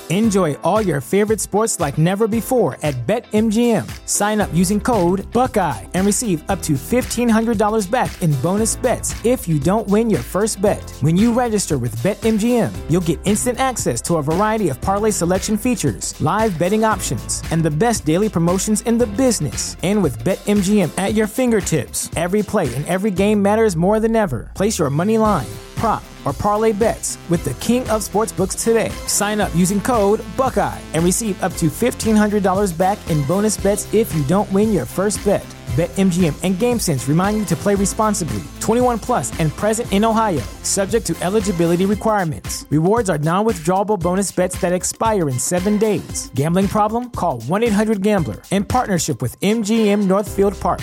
Enjoy all your favorite sports like never before at BetMGM. Sign up using code Buckeye and receive up to $1,500 back in bonus bets if you don't win your first bet. When you register with BetMGM, you'll get instant access to a variety of parlay selection features, live betting options, and the best daily promotions in the business. And with BetMGM at your fingertips, every play and every game matters more than ever. Place your money line, prop, or parlay bets with the king of sportsbooks today. Sign up using code Buckeye and receive up to $1,500 back in bonus bets if you don't win your first bet. BetMGM and GameSense remind you to play responsibly. 21 plus and present in Ohio, subject to eligibility requirements. Rewards are non-withdrawable bonus bets that expire in 7 days. Gambling problem? Call 1-800-GAMBLER. In partnership with MGM Northfield Park.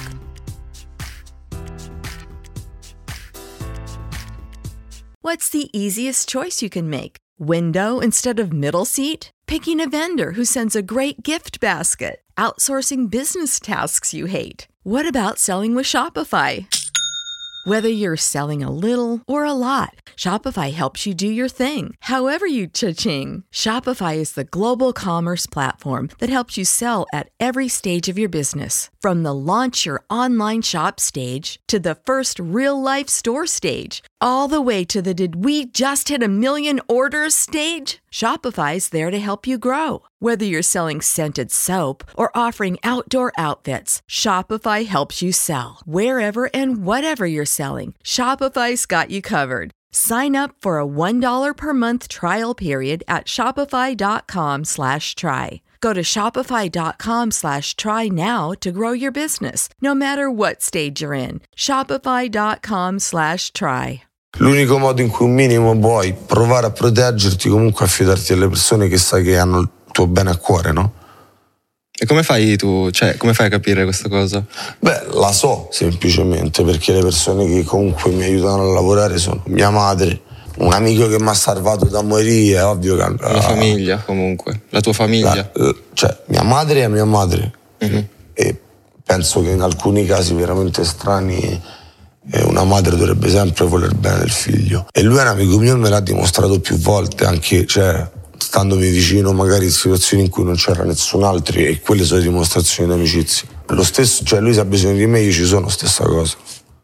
What's the easiest choice you can make? Window instead of middle seat? Picking a vendor who sends a great gift basket? Outsourcing business tasks you hate? What about selling with Shopify? Whether you're selling a little or a lot, Shopify helps you do your thing, however you cha-ching. Shopify is the global commerce platform that helps you sell at every stage of your business. From the launch your online shop stage to the first real-life store stage, all the way to the did we just hit 1 million orders stage? Shopify's there to help you grow. Whether you're selling scented soap or offering outdoor outfits, Shopify helps you sell. Wherever and whatever you're selling, Shopify's got you covered. Sign up for a $1 per month trial period at shopify.com/try. Go to shopify.com/try now to grow your business, no matter what stage you're in. Shopify.com/try. L'unico modo in cui un minimo puoi provare a proteggerti, comunque affidarti alle persone che sai che hanno il tuo bene a cuore, no? E come fai tu? Cioè, come fai a capire questa cosa? Beh, la so semplicemente perché le persone che comunque mi aiutano a lavorare sono mia madre, un amico che mi ha salvato da morire, è ovvio che... La famiglia, comunque. La tua famiglia. Cioè, mia madre è mia madre. Mm-hmm. E penso che in alcuni casi veramente strani una madre dovrebbe sempre voler bene del figlio. E lui è un amico mio e me l'ha dimostrato più volte, anche, cioè, standomi vicino magari in situazioni in cui non c'era nessun altro, e quelle sono dimostrazioni di amicizia. Lo stesso, cioè lui se ha bisogno di me, io ci sono, stessa cosa.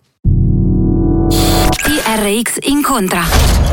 TRX incontra.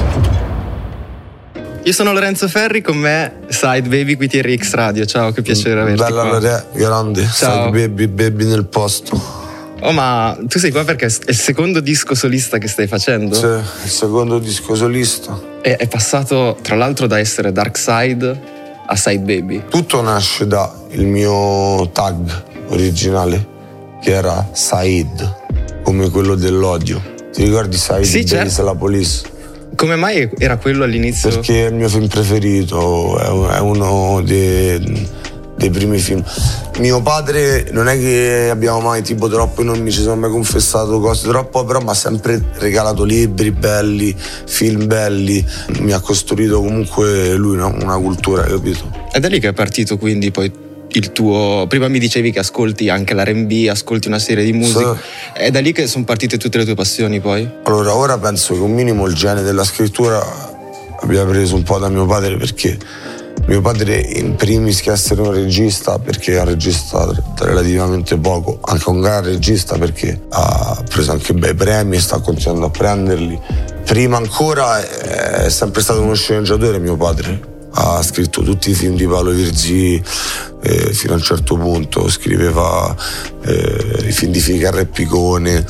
Io sono Lorenzo Ferri, con me Side Baby qui TRX Radio. Ciao, che piacere averti Bella qua. Lore, grande. Ciao. Side Baby nel posto. Oh, ma tu sei qua perché è il secondo disco solista che stai facendo? Sì, il secondo disco solista. E è passato tra l'altro da essere Dark Side a Side Baby. Tutto nasce da il mio tag originale, che era Said, come quello dell'odio. Ti ricordi Said? Sì, certo. La Police? Come mai era quello all'inizio? Perché è il mio film preferito, è uno dei primi film. Mio padre non è che abbiamo mai tipo troppo, non mi ci sono mai confessato cose troppo, però mi ha sempre regalato libri belli, film belli, mi ha costruito comunque lui una cultura, capito? È da lì che è partito quindi poi il tuo... Prima mi dicevi che ascolti anche l'R&B, ascolti una serie di musica. Sì. È da lì che sono partite tutte le tue passioni poi? Allora, ora penso che un minimo il genere della scrittura abbia preso un po' da mio padre, perché mio padre in primis che essere un regista, perché è un regista relativamente poco, anche un gran regista perché ha preso anche bei premi e sta continuando a prenderli. Prima ancora è sempre stato uno sceneggiatore mio padre, ha scritto tutti i film di Paolo Virzì fino a un certo punto, scriveva i film di Ficarra e Picone,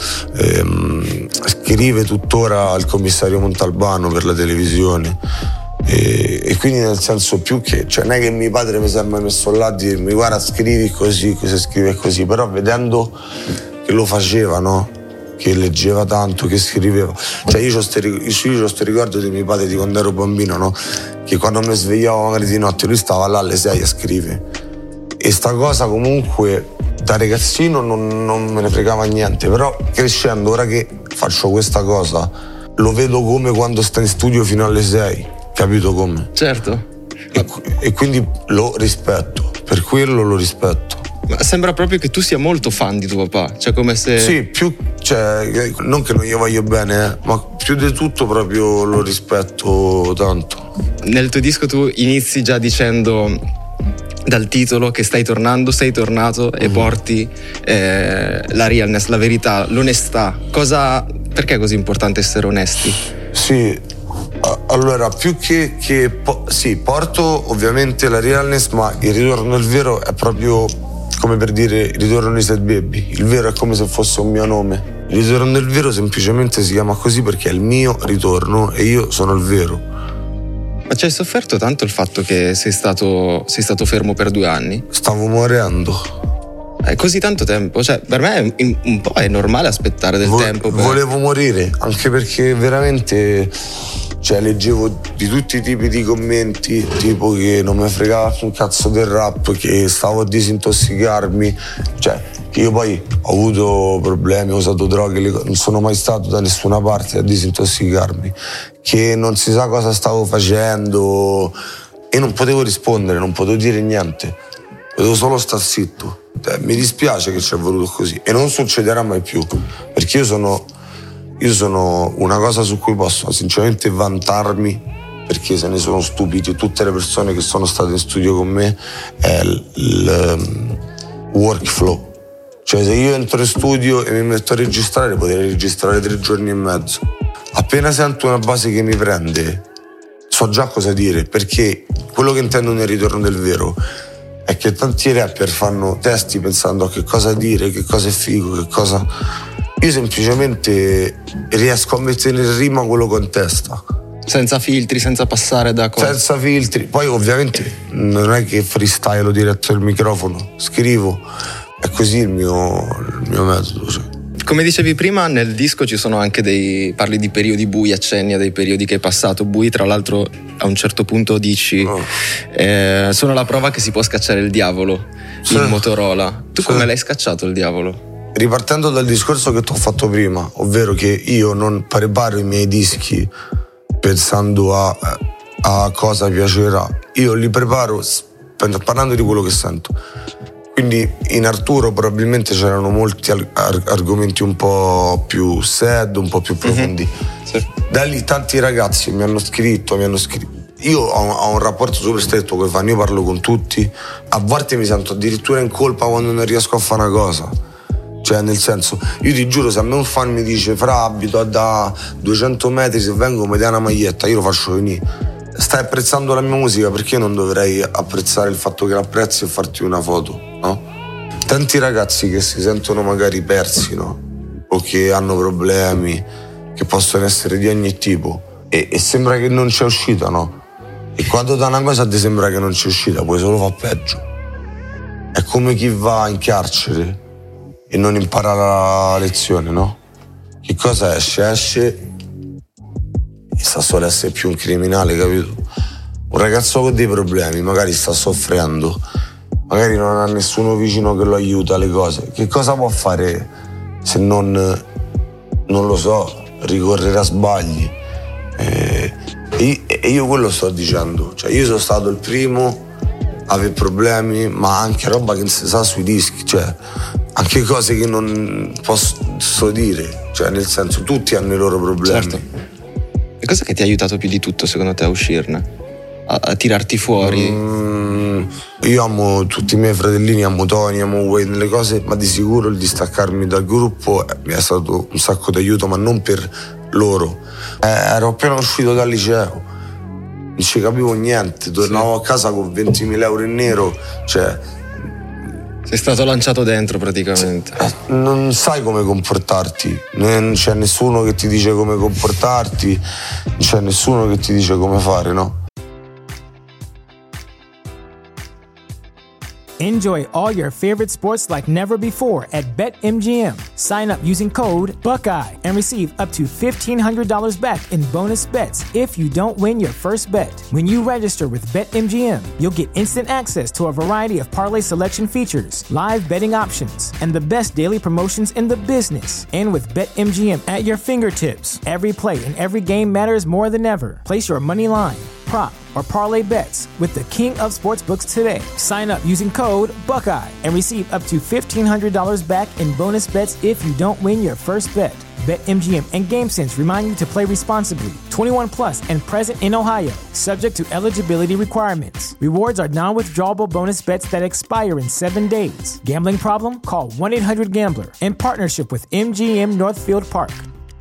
scrive tuttora Il commissario Montalbano per la televisione. E quindi nel senso più che, cioè non è che mio padre mi si è mai messo là a dirmi guarda scrivi così, se scrive così, però vedendo che lo faceva, no? Che leggeva tanto, che scriveva, cioè io ho sto ricordo di mio padre di quando ero bambino, no? Che quando mi svegliavo magari di notte lui stava là alle 6 a scrivere, e sta cosa comunque da ragazzino non me ne fregava niente, però crescendo ora che faccio questa cosa lo vedo come quando sta in studio fino alle 6. Capito come? Certo. E quindi lo rispetto, per quello lo rispetto. Ma sembra proprio che tu sia molto fan di tuo papà, cioè come se... Sì, più, cioè, non che non gli voglio bene, ma più di tutto proprio lo rispetto tanto. nel tuo disco tu inizi già dicendo dal titolo che sei tornato e porti la realness, la verità, l'onestà. Perché è così importante essere onesti? Sì, allora più che porto ovviamente la realness, ma il ritorno al vero è proprio come per dire il ritorno di Sad Baby. Il vero è come se fosse un mio nome. Il ritorno del vero semplicemente si chiama così perché è il mio ritorno e io sono il vero. Ma ci hai sofferto tanto il fatto che sei stato fermo per 2 anni? Stavo morendo. Così tanto tempo? Cioè, per me un po' è normale aspettare del tempo. Volevo morire, anche perché veramente leggevo di tutti i tipi di commenti, tipo che non mi fregava un cazzo del rap, che stavo a disintossicarmi. Che io poi ho avuto problemi, ho usato droghe, non sono mai stato da nessuna parte a disintossicarmi, che non si sa cosa stavo facendo e non potevo rispondere, non potevo dire niente, potevo solo star zitto. Mi dispiace che ci è voluto così e non succederà mai più, perché io sono una cosa su cui posso sinceramente vantarmi, perché se ne sono stupiti tutte le persone che sono state in studio con me, è il workflow. Se io entro in studio e mi metto a registrare, potrei registrare 3 giorni e mezzo. Appena sento una base che mi prende, so già cosa dire, perché quello che intendo nel ritorno del vero è che tanti rapper fanno testi pensando a che cosa dire, che cosa è figo, che cosa... Io semplicemente riesco a mettere in rima quello che ho in testa. Senza filtri, senza passare da cose. Senza filtri. Poi ovviamente non è che freestyle diretto al microfono, scrivo. È così il mio metodo. Come dicevi prima, nel disco ci sono anche parli di periodi bui, accenni a dei periodi che hai passato bui. Tra l'altro a un certo punto dici sono la prova che si può scacciare il diavolo in Motorola. Tu come l'hai scacciato il diavolo? Ripartendo dal discorso che ti ho fatto prima, ovvero che io non preparo i miei dischi pensando a cosa piacerà, io li preparo parlando di quello che sento. Quindi in Arturo probabilmente c'erano molti argomenti un po' più sad, un po' più profondi. Sì. Da lì tanti ragazzi mi hanno scritto. Io ho un rapporto super stretto con i fan, io parlo con tutti. A volte mi sento addirittura in colpa quando non riesco a fare una cosa. Nel senso, io ti giuro, se a me un fan mi dice fra abito da 200 metri, se vengo mi dai una maglietta, io lo faccio venire. Stai apprezzando la mia musica, perché non dovrei apprezzare il fatto che l'apprezzi e farti una foto, no? Tanti ragazzi che si sentono magari persi, no? O che hanno problemi, che possono essere di ogni tipo, e sembra che non c'è uscita, no? E quando da una cosa ti sembra che non c'è uscita, puoi solo far peggio. È come chi va in carcere e non impara la lezione, no? Che cosa esce e sta solo a essere più un criminale, capito? Un ragazzo con dei problemi, magari sta soffrendo, magari non ha nessuno vicino che lo aiuta alle cose. Che cosa può fare se non lo so, ricorrere a sbagli? E io quello sto dicendo, io sono stato il primo a avere problemi, ma anche roba che non si sa sui dischi, anche cose che non posso dire, nel senso, tutti hanno i loro problemi. Certo. E cosa che ti ha aiutato più di tutto secondo te a uscirne? A tirarti fuori? Io amo tutti i miei fratellini, amo Tony, amo Wayne, le cose, ma di sicuro il distaccarmi dal gruppo mi è stato un sacco d'aiuto, ma non per loro. Ero appena uscito dal liceo, non ci capivo niente, tornavo a casa con 20.000 euro in nero, Sei stato lanciato dentro praticamente. Non sai come comportarti, non c'è nessuno che ti dice come comportarti, non c'è nessuno che ti dice come fare, no? Enjoy all your favorite sports like never before at BetMGM. Sign up using code Buckeye and receive up to $1,500 back in bonus bets if you don't win your first bet. When you register with BetMGM, you'll get instant access to a variety of parlay selection features, live betting options, and the best daily promotions in the business. And with BetMGM at your fingertips, every play and every game matters more than ever. Place your money line, prop, or parlay bets with the king of sportsbooks today. Sign up using code Buckeye and receive up to $1,500 back in bonus bets if you don't win your first bet. BetMGM and GameSense remind you to play responsibly. 21 plus and present in Ohio, subject to eligibility requirements. Rewards are non-withdrawable bonus bets that expire in 7 days. Gambling problem? Call 1-800-GAMBLER. In partnership with MGM Northfield Park.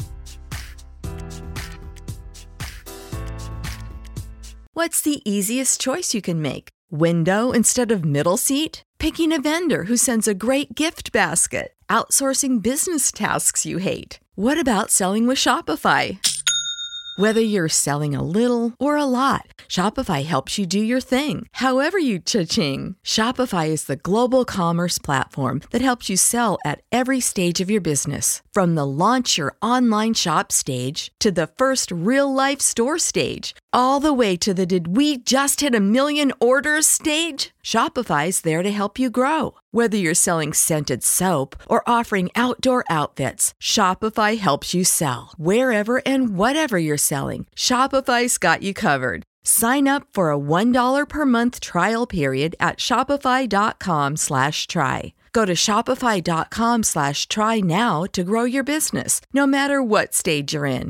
What's the easiest choice you can make? Window instead of middle seat? Picking a vendor who sends a great gift basket? Outsourcing business tasks you hate? What about selling with Shopify? Whether you're selling a little or a lot, Shopify helps you do your thing, however you cha-ching. Shopify is the global commerce platform that helps you sell at every stage of your business. From the launch your online shop stage to the first real-life store stage, all the way to the did we just hit 1 million orders stage? Shopify's there to help you grow. Whether you're selling scented soap or offering outdoor outfits, Shopify helps you sell. Wherever and whatever you're selling, Shopify's got you covered. Sign up for a $1 per month trial period at shopify.com/try. Go to shopify.com/try now to grow your business, no matter what stage you're in.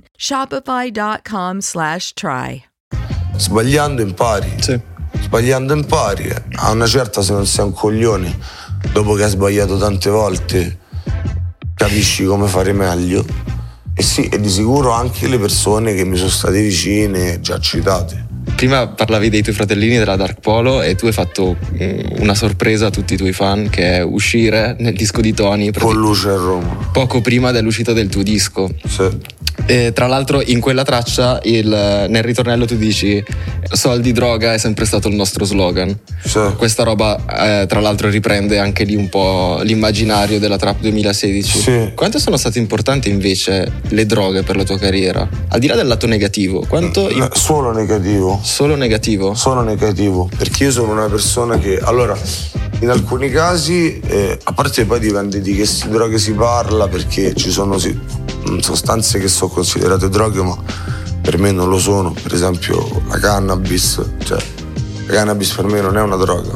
Shopify.com/try. Sbagliando impari. Sì. Sbagliando impari. A una certa, se non sei un coglione, dopo che hai sbagliato tante volte, capisci come fare meglio. E sì, e di sicuro anche le persone che mi sono state vicine, già citate. Prima parlavi dei tuoi fratellini della Dark Polo e tu hai fatto una sorpresa a tutti i tuoi fan, che è uscire nel disco di Tony Con Luce a Roma. poco prima dell'uscita del tuo disco. Sì. E tra l'altro in quella traccia nel ritornello tu dici soldi, droga è sempre stato il nostro slogan. Sì. Questa roba tra l'altro riprende anche lì un po' l'immaginario della Trap 2016. Sì. Quanto sono state importanti invece le droghe per la tua carriera? Al di là del lato negativo, quanto... Solo negativo. Solo negativo? Solo negativo, perché io sono una persona che, allora, in alcuni casi, a parte poi dipende di che droghe si parla, perché ci sono sostanze che sono considerate droghe ma per me non lo sono. Per esempio la cannabis, cioè la cannabis per me non è una droga,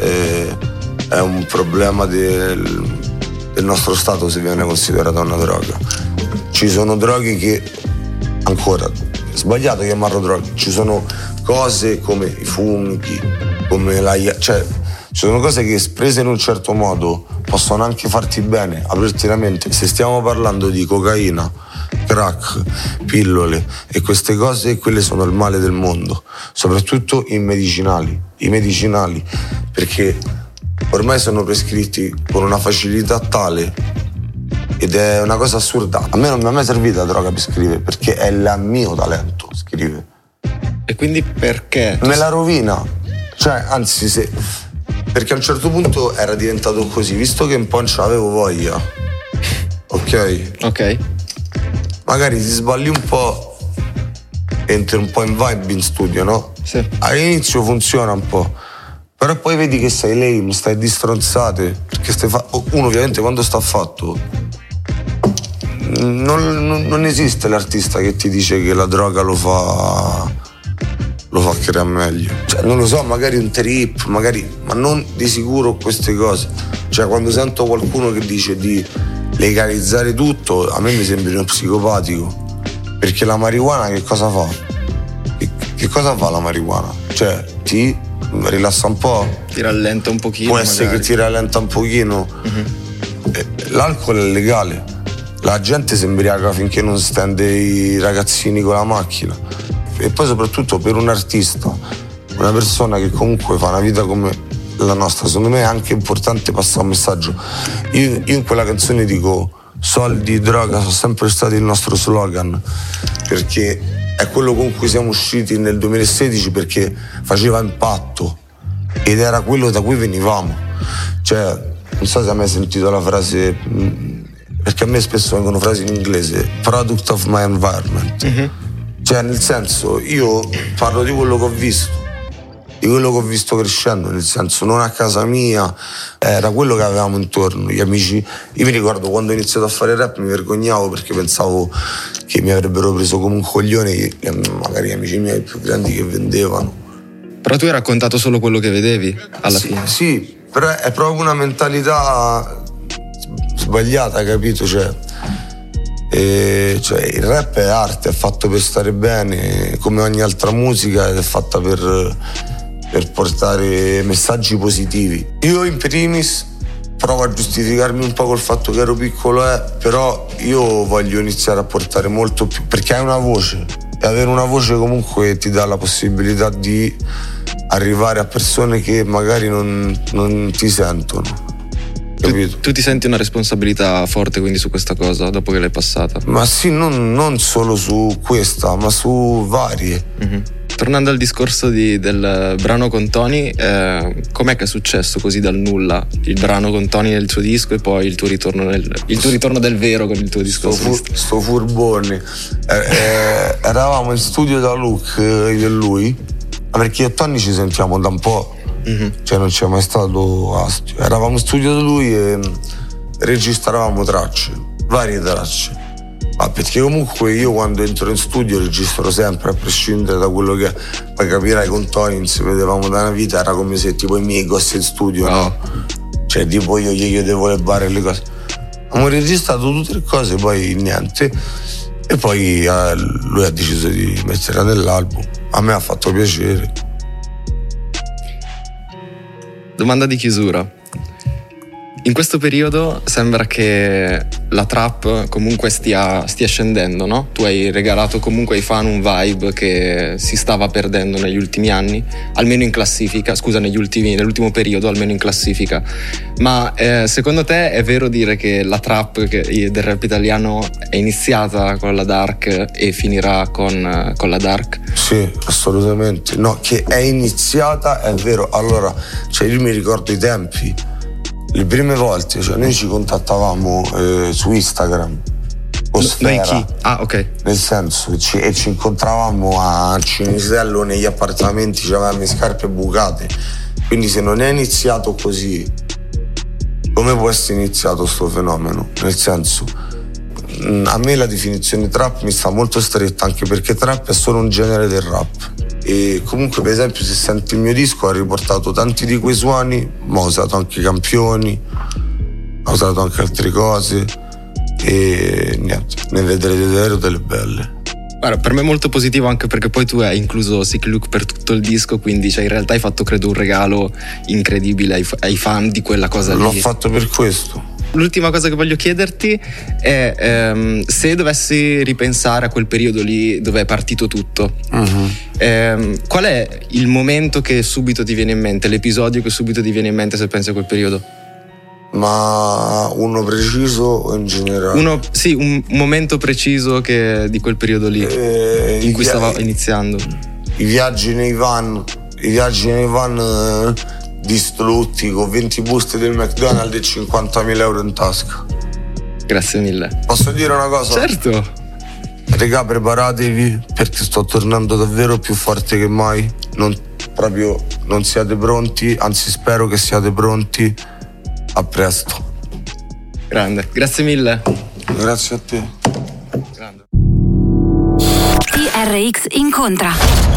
è un problema del nostro stato se viene considerata una droga. Ci sono droghe che, ancora, è sbagliato chiamarlo droghe, ci sono cose come i funghi, come cioè ci sono cose che espresse in un certo modo possono anche farti bene, aprirti la mente. Se stiamo parlando di cocaina, crack, pillole e queste cose, quelle sono il male del mondo, soprattutto i medicinali, perché ormai sono prescritti con una facilità tale ed è una cosa assurda. A me non mi è mai servita la droga per scrivere, perché è il mio talento scrivere. E quindi perché? Me la rovina, cioè anzi perché a un certo punto era diventato così, visto che un po' non ce l'avevo voglia, ok? Magari ti sballi un po', entri un po' in vibe in studio, no? Sì. All'inizio funziona un po', però poi vedi che sei lame, stai di stronzate, perché uno ovviamente quando sta fatto non esiste l'artista che ti dice che la droga lo fa creare meglio. Cioè, non lo so, magari un trip, ma non di sicuro queste cose. Cioè, quando sento qualcuno che dice di legalizzare tutto, a me mi sembra uno psicopatico. Perché la marijuana che cosa fa? Che cosa fa la marijuana? Cioè, ti rilassa un po'? Ti rallenta un pochino. Può essere magari. Che ti rallenta un pochino. L'alcol è legale. La gente si imbriaca finché non stende i ragazzini con la macchina. E poi soprattutto per un artista, una persona che comunque fa una vita come la nostra, secondo me è anche importante passare un messaggio. Io in quella canzone dico soldi, droga sono sempre stati il nostro slogan, perché è quello con cui siamo usciti nel 2016, perché faceva impatto ed era quello da cui venivamo. Cioè, non so se hai mai sentito la frase, perché a me spesso vengono frasi in inglese, product of my environment. Cioè, nel senso, io parlo di quello che ho visto di quello che ho visto crescendo, nel senso, non a casa mia, era quello che avevamo intorno, gli amici. Io mi ricordo quando ho iniziato a fare rap mi vergognavo perché pensavo che mi avrebbero preso come un coglione magari gli amici miei più grandi che vendevano. Però tu hai raccontato solo quello che vedevi alla fine. Sì, però è proprio una mentalità sbagliata, capito? Cioè, il rap è arte, è fatto per stare bene, come ogni altra musica, ed è fatta per portare messaggi positivi. Io in primis provo a giustificarmi un po' col fatto che ero piccolo, però io voglio iniziare a portare molto più, perché hai una voce, e avere una voce comunque ti dà la possibilità di arrivare a persone che magari non ti sentono. Tu ti senti una responsabilità forte quindi su questa cosa dopo che l'hai passata? Ma sì, non solo su questa, ma su varie. Mm-hmm. Tornando al discorso del brano con Tony, com'è che è successo così dal nulla il brano con Tony nel tuo disco e poi il tuo ritorno del vero con il tuo disco? Sto furbone. Eravamo in studio da Luke, io e lui, perché io e Tony ci sentiamo da un po'. Mm-hmm. Cioè non c'è mai stato astio. Eravamo in studio da lui e registravamo tracce, varie tracce. Ma perché comunque io quando entro in studio registro sempre, a prescindere da quello che poi capirai, con Tony non si vedevamo da una vita, era come se tipo i miei gosse in studio, no? Cioè tipo io gli chiedevo le barre e le cose. Abbiamo registrato tutte le cose, poi niente. E poi lui ha deciso di metterla nell'album. A me ha fatto piacere. Domanda di chiusura. In questo periodo sembra che la trap comunque stia scendendo, no? Tu hai regalato comunque ai fan un vibe che si stava perdendo negli ultimi anni, almeno in classifica, scusa, nell'ultimo periodo, almeno in classifica. Ma secondo te è vero dire che la trap del rap italiano è iniziata con la dark e finirà con la dark? Sì, assolutamente. No, che è iniziata è vero. Allora, cioè io mi ricordo i tempi. Le prime volte, cioè noi ci contattavamo su Instagram o Sfera. Noi chi? Ah, ok. Nel senso, ci incontravamo a Cinisello negli appartamenti, c'avevamo le scarpe bucate. Quindi se non è iniziato così, come può essere iniziato sto fenomeno? Nel senso, a me la definizione trap mi sta molto stretta, anche perché trap è solo un genere del rap. E comunque, per esempio, se senti il mio disco, ha riportato tanti di quei suoni, ma ho usato anche i campioni, ho usato anche altre cose e niente, ne vedrete davvero delle belle. Guarda, per me è molto positivo, anche perché poi tu hai incluso Sick Luke per tutto il disco, quindi in realtà hai fatto, credo, un regalo incredibile ai fan di quella cosa lì. L'ho fatto per questo. L'ultima cosa che voglio chiederti è se dovessi ripensare a quel periodo lì dove è partito tutto, qual è il momento che subito ti viene in mente, l'episodio che subito ti viene in mente se pensi a quel periodo? Ma uno preciso o in generale? Sì, un momento preciso di quel periodo lì in cui stava iniziando. I viaggi nei van distrutti con 20 buste del McDonald's e 50.000 euro in tasca. Grazie mille. Posso dire una cosa? Certo. Regà, preparatevi perché sto tornando davvero più forte che mai. Non siate pronti, anzi spero che siate pronti. A presto. Grande, grazie mille. Grazie a te. Grande. TRX incontra.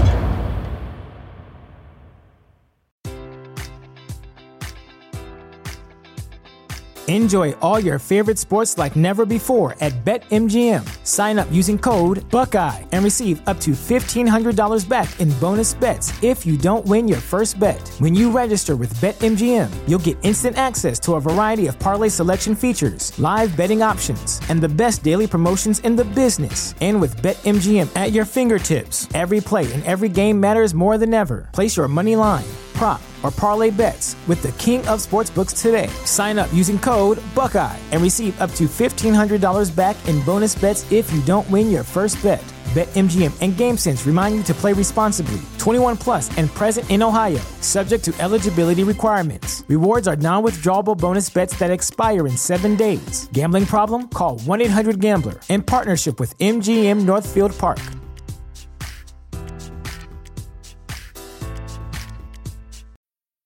Enjoy all your favorite sports like never before at BetMGM. Sign up using code Buckeye and receive up to $1,500 back in bonus bets if you don't win your first bet. When you register with BetMGM, you'll get instant access to a variety of parlay selection features, live betting options, and the best daily promotions in the business. And with BetMGM at your fingertips, every play and every game matters more than ever. Place your money line, prop, or parlay bets with the king of sportsbooks today. Sign up using code Buckeye and receive up to $1,500 back in bonus bets if you don't win your first bet. BetMGM and GameSense remind you to play responsibly. 21 plus and present in Ohio, subject to eligibility requirements. Rewards are non-withdrawable bonus bets that expire in 7 days. Gambling problem? Call 1-800-GAMBLER. In partnership with MGM Northfield Park.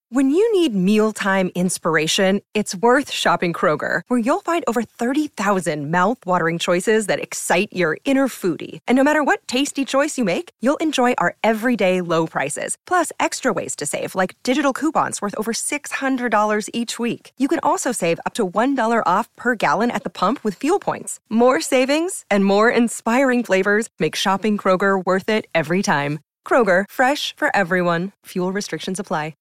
When you need mealtime inspiration, it's worth shopping Kroger, where you'll find over 30,000 mouth-watering choices that excite your inner foodie. And no matter what tasty choice you make, you'll enjoy our everyday low prices, plus extra ways to save, like digital coupons worth over $600 each week. You can also save up to $1 off per gallon at the pump with fuel points. More savings and more inspiring flavors make shopping Kroger worth it every time. Kroger, fresh for everyone. Fuel restrictions apply.